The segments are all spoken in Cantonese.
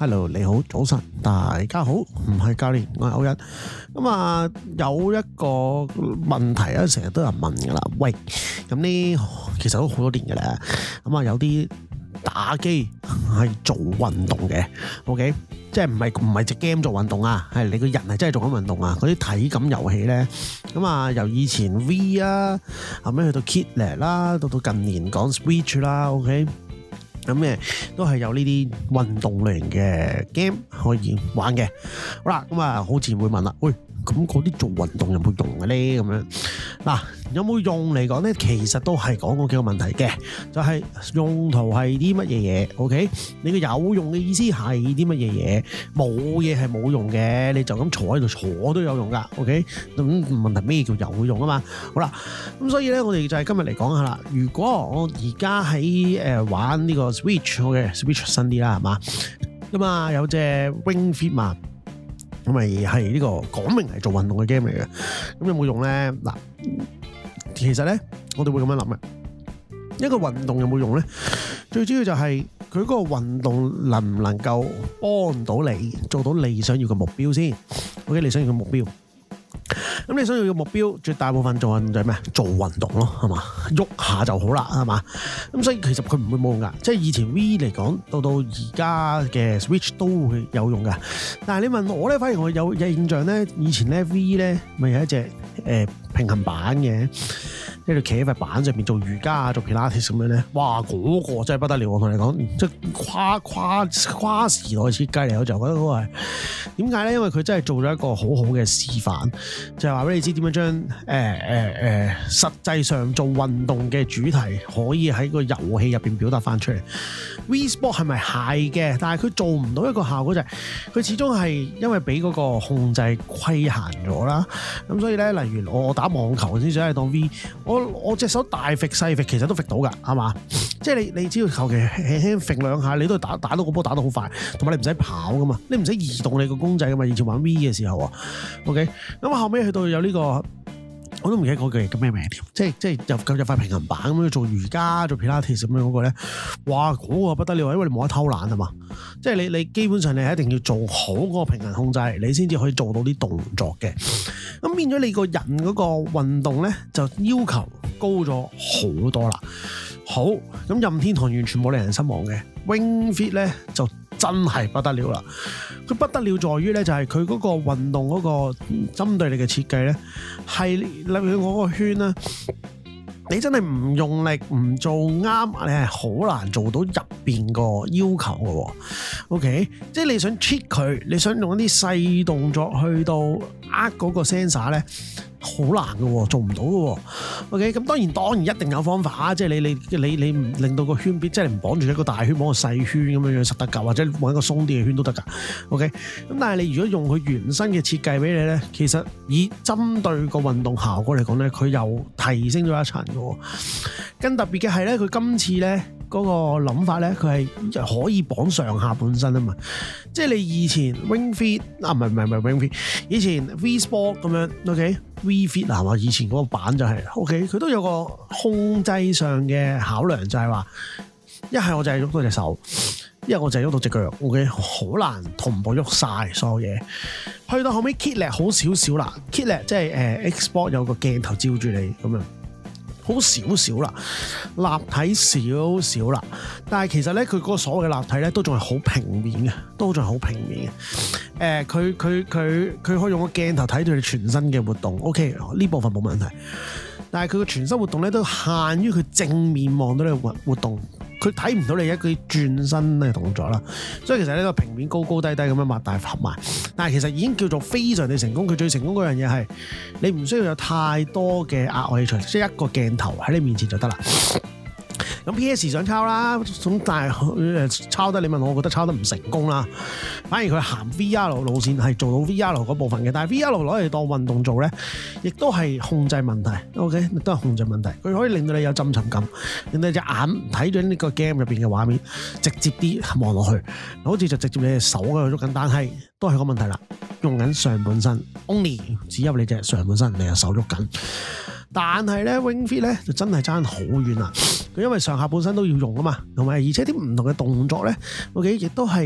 Hello， 你好，早晨，大家好，唔係教練，我係歐一。咁啊，有一個問題啊，成日都有人問噶啦。喂，咁呢其實都好多年噶啦。咁啊，有啲打機係做運動嘅 ，OK， 即係唔係隻 game 做運動啊，係你個人係真係做緊運動啊。嗰啲體感遊戲咧，咁啊，由以前 V 啊，後尾去到 Kidlet 啦，到近年講 Switch 啦 ，OK。咁都係有呢啲運動類型嘅 game 可以玩嘅。好啦，咁啊，好自然會問啦，喂，咁嗰啲做運動有冇用嘅咧？咁樣嗱，有冇用嚟講咧？其實都係講過幾個問題嘅，就係用途係啲乜嘢嘢 ？OK， 你個有用嘅意思係啲乜嘢嘢？冇嘢係冇用嘅，你就咁坐喺度坐都有用噶。OK， 咁問題咩叫有用啊嘛？好啦，咁所以咧，我哋就係今日嚟講下啦。如果我而家喺玩呢個 Switch 新啲啦，係嘛？咁啊有隻 Ring Fit 嘛。咁咪係呢個講明係做運動嘅 game 嚟嘅，咁有冇用咧？嗱，其實咧我哋會咁樣諗嘅，一個運動有冇用咧？最主要就係佢嗰個運動能唔能夠幫到你做到你想要嘅目標先。OK， 你想要嘅目標。咁你想要嘅目標，絕大部分做運動就係咩？做運動咯，係嘛？喐下就好啦，係嘛？咁所以其實佢唔會冇用噶，即係以前 V 嚟講，到而家嘅 Switch 都會有用噶。但係你問我咧，反而我有印象咧，以前咧 V 咧咪有一隻平衡板嘅，即係你企喺塊板上面做瑜伽啊、做 Pilates 咁樣咧，哇！嗰個真係不得了，我同你講，即係跨時代設計嚟，我就覺得嗰個係點解咧？因為佢真係做咗一個好好嘅示範，就係話俾你知點樣將實際上做運動嘅主題可以喺個遊戲入邊表達翻出嚟。V Sport 係咪係嘅？但係佢做唔到一個效果，就係佢始終係因為俾嗰個控制規限咗啦。咁所以咧，例如我打網球先想係當 V， 我隻手大揈細揈，其實都揈到㗎，係嘛？即係你只要求其輕輕揈兩下，你都打到個波打到好快，同埋你唔使跑㗎嘛，你唔使移動你個公仔㗎嘛。以前玩 V 嘅時候啊 ，OK， 咁後尾去到有呢個，我都唔記得嗰句叫咩名添，即係入塊平衡板咁樣做瑜伽做 Pilates 咁樣嗰個咧，哇嗰個不得了，因為你冇得偷懶啊嘛，即係你基本上你一定要做好嗰個平衡控制，你先至可以做到啲動作嘅。咁變咗你個人嗰個運動咧，就要求高咗好多啦。好，咁任天堂完全冇令人失望嘅 Ring Fit 咧就真係不得了啦！佢不得了在於咧，就係佢嗰個運動嗰個針對你嘅設計咧，係例如我個圈咧，你真係唔用力唔做啱，你係好難做到入邊個要求嘅喎。OK， 即係你想 cheat 佢，你想用一啲細動作去到嗰個 sensor 咧。好難嘅喎，做唔到嘅喎。OK， 咁當然一定有方法，即係你唔令到個圈邊，即係你唔綁住一個大圈，綁個細圈咁樣實得㗎，或者揾一個鬆啲嘅圈都得㗎。OK， 咁但係你如果用佢原生嘅設計俾你咧，其實以針對個運動效果嚟講咧，佢又提升咗一層嘅喎。更特別嘅係咧，佢今次咧嗰個諗法咧，佢係可以綁上下半身啊嘛。即係你以前 Ring Fit 唔係 Ring Fit， 以前 V Sport 咁樣 OK。V Fit 係嘛？以前嗰個版就係 OK， 佢都有個控制上嘅考量，就係話一係我就係喐到隻手，一係我就係喐到隻腳 OK， 好難同步喐晒所有嘢。去到後尾 Kidlet 好少少啦 ，Kidlet 即係Xbox 有個鏡頭照住你咁樣。好少少啦，立體少少啦，但係其實咧，佢嗰個所謂嘅立體咧，都仲係好平面嘅，都仲係好平面嘅。佢可以用個鏡頭睇到你全身嘅活動 ，OK， 呢部分冇問題。但係佢個全身活動咧，都限於佢正面望到你嘅活動，佢睇唔到你一個轉身嘅動作啦。所以其實呢個平面高高低低咁樣擘大合埋，但係其實已經叫做非常地成功。佢最成功嗰樣嘢係你唔需要有太多嘅額外器材，即係一個鏡頭喺你面前就得啦。咁 PS 想抄啦，咁但係抄得你問我覺得抄得唔成功啦。反而佢行 VR 路線係做到 VR 嗰部分嘅，但係 VR 攞嚟當運動做咧，亦都係控制問題。OK， 都係控制問題。佢可以令到你有浸沉感，令到你隻眼睇咗呢個 game 入邊嘅畫面，直接啲望落去，好似就直接你隻手喺度喐緊，但係都係個問題啦。用緊上半身 ，only 只有你隻上半身，你隻手喐緊。但係咧 Ring Fit 咧就真係爭好遠啦，佢因為上下半身都要用啊嘛，同埋而且啲唔同嘅動作咧，OK 亦都係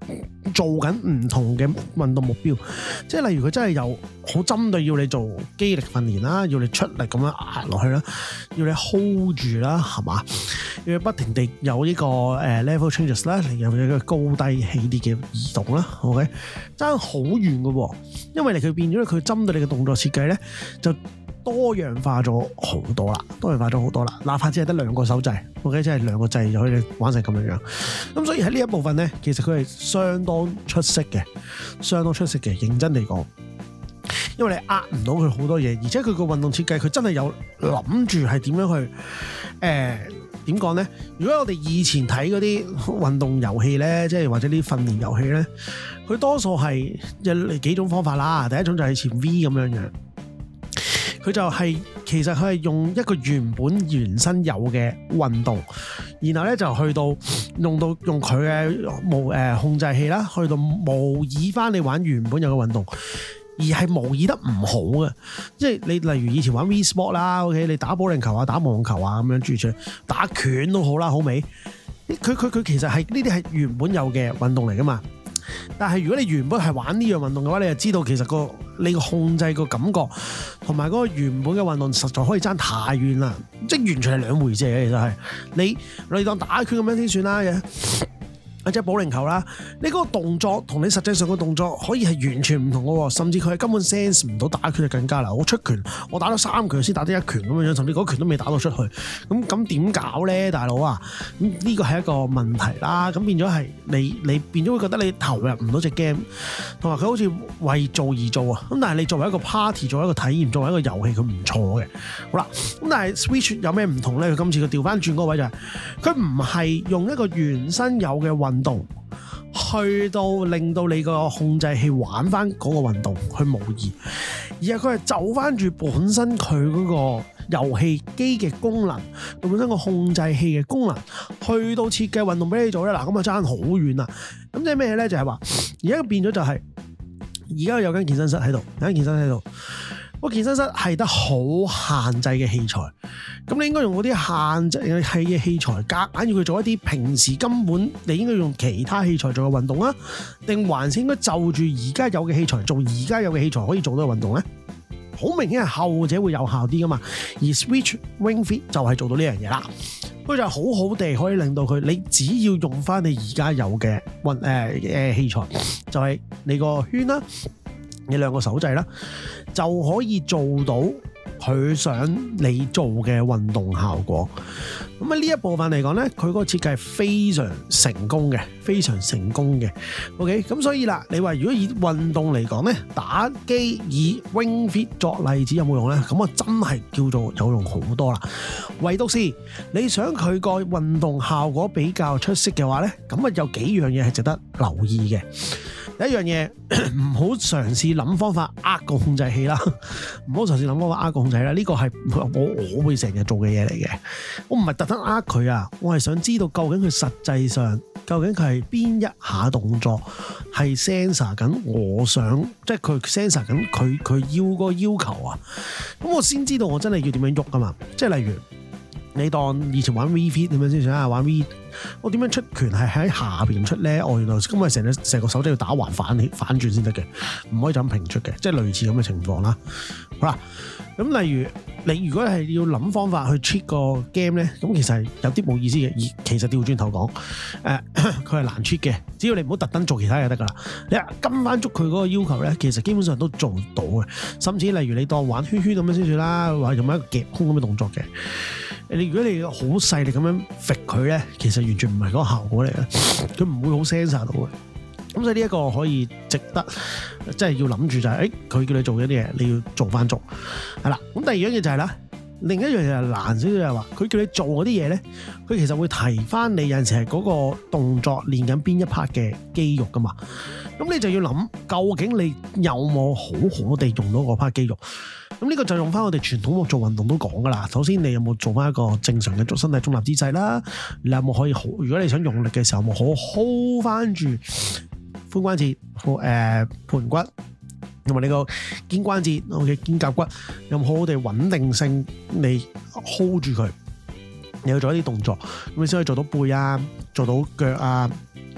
做緊唔同嘅運動目標，即係例如佢真係有好針對要你做肌力訓練啦，要你出力咁樣壓落去啦，要你 hold 住啦，係嘛？要你不停地有呢個level changes 啦，你有一個高低起啲嘅移動啦 ，OK， 爭好遠嘅喎，因為佢變咗佢針對你嘅動作設計咧就多樣化咗好多啦，哪怕只係得2個手掣 ，OK， 即係2個掣就可以玩成咁樣。咁所以喺呢一部分咧，其實佢係相當出色嘅，認真地講。因為你呃唔到佢好多嘢，而且佢個運動設計，佢真係有諗住係點樣去點講咧？如果我哋以前睇嗰啲運動遊戲咧，即係或者啲訓練遊戲咧，佢多數係有幾種方法啦。第一種就係似 V 咁樣樣。佢就係其實佢係用一個原身有嘅運動，然後咧就去到用佢嘅控制器啦，去到模擬翻你玩原本有嘅運動，而係模擬得唔好嘅。即係你例如以前玩 V Sport 啦 ，OK， 你打保齡球啊、打網球啊咁樣住出打拳都好啦，好未？佢其實係呢啲係原本有嘅運動嚟噶嘛。但係如果你原本係玩呢樣運動嘅話，你就知道其實你個控制個感覺同埋嗰個原本嘅運動實在可以爭太遠啦，即係完全係兩回事嘅。其實係你當打拳咁樣先算啦嘅。或者保齡球啦，你嗰個動作同你實際上個動作可以係完全唔同嘅喎，甚至佢係根本 sense 唔到打拳就更加啦。我出拳，我打咗3拳先打得1拳咁樣，甚至嗰拳都未打到出去，咁點搞咧，大佬啊？咁呢個係一個問題啦。咁變咗係你變咗會覺得你投入唔到隻 game， 同埋佢好似為做而做啊。咁但係你作為一個 party， 作為一個體驗，作為一個遊戲，佢唔錯嘅。好啦，咁但係 Switch 有咩唔同咧？佢今次佢調翻轉嗰個位就係佢唔係用一個原身有嘅運動去到令到你個控制器玩翻嗰個運動去模擬，而係佢係走翻住本身佢嗰個遊戲機嘅功能，佢本身個控制器嘅功能，去到設計運動俾你做咧。嗱，咁啊爭好遠啦。咁即係咩咧？就係話而家變咗就係而家有間健身室喺度，個健身室係得好限制嘅器材，咁你應該用嗰啲限制嘅器材，夾硬要佢做一啲平時根本你應該用其他器材做嘅運動啊？定還是應該就住而家有嘅器材做而家有嘅器材可以做到嘅運動咧？好明顯係後者會有效啲噶嘛，而 Switch Ring Fit 就係做到呢樣嘢啦。佢就好好地可以令到佢，你只要用翻你而家有嘅器材，就係你個圈啦，你2個手掣啦，就可以做到佢想你做嘅運動效果。咁喺呢一部分嚟講咧，佢嗰個設計係非常成功嘅。OK， 咁所以啦，你話如果以運動嚟講咧，打機以 Ring Fit 作例子有冇用咧？咁啊真係叫做有用好多啦。唯獨是你想佢個運動效果比較出色嘅話咧，咁啊有幾樣嘢係值得留意嘅。第一樣嘢，唔好嘗試諗方法呃個控制器啦，唔好嘗試諗方法呃個控制器啦。呢個係我會成日做嘅嘢嚟嘅。我唔係特登呃佢啊，我係想知道究竟佢實際上究竟佢係邊一下動作係 sensor 緊我想，即係佢 sensor 緊佢要個要求啊。咁我先知道我真係要點樣喐㗎嘛。即係例如你當以前玩 V Fit 點樣先算啊？玩 V， 我點樣出拳係喺下邊出咧？原來咁啊，成個手掣要打橫反轉先得嘅，唔可以就咁平出嘅，即係類似咁嘅情況啦。好啦，咁例如你如果係要諗方法去 cheat 個 game 咧，咁其實係有啲冇意思嘅。而其實調轉頭講，佢係難 cheat 嘅，只要你唔好特登做其他嘢得噶啦。你跟翻足佢嗰個要求咧，其實基本上都做到嘅。甚至例如你當玩圈圈咁樣先算啦，或者用一個夾空咁嘅動作嘅。如果你好細力咁樣揈佢咧，其實完全唔係嗰個效果嚟嘅，佢唔會好 sensor 到嘅。咁所以呢一個可以值得，即係要諗住就係，佢叫你做一啲嘢，你要做翻足，係啦。咁第二樣嘢就係啦，另一樣嘢係難少少，就係話佢叫你做嗰啲嘢咧，佢其實會提翻你有陣時係嗰個動作練緊邊一 part 嘅肌肉噶嘛。咁你就要諗，究竟你有冇好好地用到嗰 part 肌肉？咁呢個就用翻我哋傳統做運動都講噶啦。首先你有冇做翻一個正常嘅身體中立姿勢啦？你有冇可以好？如果你想用力嘅時候，有冇好 hold 翻住髖關節、盤骨同埋你個肩關節、肩胛骨，有冇好好地穩定性你 hold 住佢？你要做一啲動作，咁你先可以做到背啊，做到腳啊，做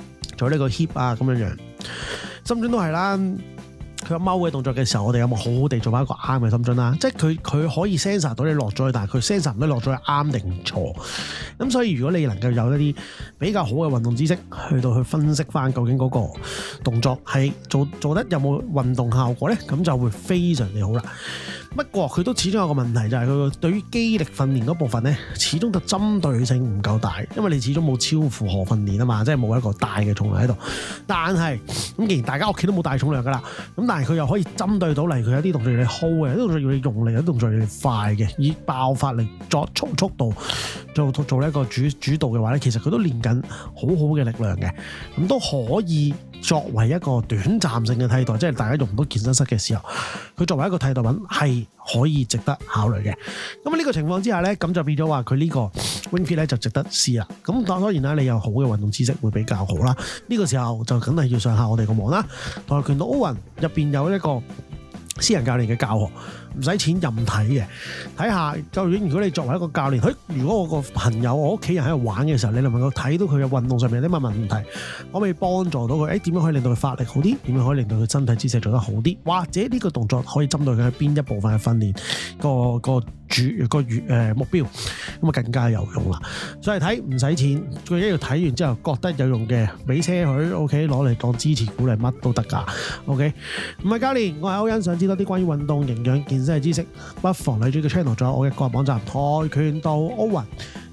做呢個 hip 啊咁樣樣。深蹲都係啦。佢踎嘅動作嘅時候，我哋有冇好好地做翻一個啱嘅深蹲啦？即係佢可以 sense 到你落咗去，但係佢 sense 唔到落咗去啱定錯。咁所以如果你能夠有一啲比較好嘅運動知識，去到去分析翻究竟嗰個動作係做得有冇運動效果咧，咁就會非常之好啦。不過佢都始終有個問題，就係佢對於肌力訓練嗰部分咧，始終就針對性唔夠大，因為你始終冇超負荷訓練啊嘛，即係冇一個大嘅重量喺度。但係咁，既然大家屋企都冇大重量噶啦，咁但係佢又可以針對到嚟，佢有啲動作要你 hold 嘅，有啲動作要你用力，有啲動作要你快嘅，以爆發力作速度做一個主導嘅話咧，其實佢都練緊好好嘅力量嘅，咁都可以作為一個短暫性嘅替代，即係大家用唔到健身室嘅時候，佢作為一個替代品係可以值得考慮嘅。咁呢個情況之下咧，咁就變咗話佢呢個 Ring Fit 咧就值得試啦。咁當然啦，你有好嘅運動知識會比較好啦。呢個時候就梗係要上下我哋個網啦，跆拳道 Owen 入邊有一個私人教練嘅教學，唔使錢任睇嘅，睇下究竟如果你作為一個教練，如果我個朋友我屋企人喺度玩嘅時候，你能夠睇到佢嘅運動上面有啲乜問題，可唔可以幫助到佢？點樣可以令到佢發力好啲？點樣可以令到佢身體姿勢做得好啲？或者呢個動作可以針對佢喺邊一部分嘅訓練個目標，咁啊更加有用啦。所以睇唔使錢，最緊要睇完之後覺得有用嘅，俾車佢 OK，攞嚟當支持鼓勵乜都得㗎。OK， 唔係教練，我係歐恩，想知多啲關於運動營養健身嘅知識，不妨嚟住個 channel，仲有我嘅個人網站跆拳道 Owen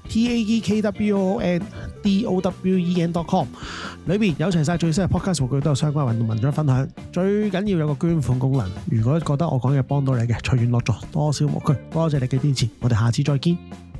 TAEKWONDOWEN.com， 裏邊有齊晒最新嘅 podcast 數據，都有相關運動文章分享。最緊要有個捐款功能，如果覺得我講嘅幫到你嘅，隨緣樂助，多少無拘。多謝你嘅支持，我哋下次再見。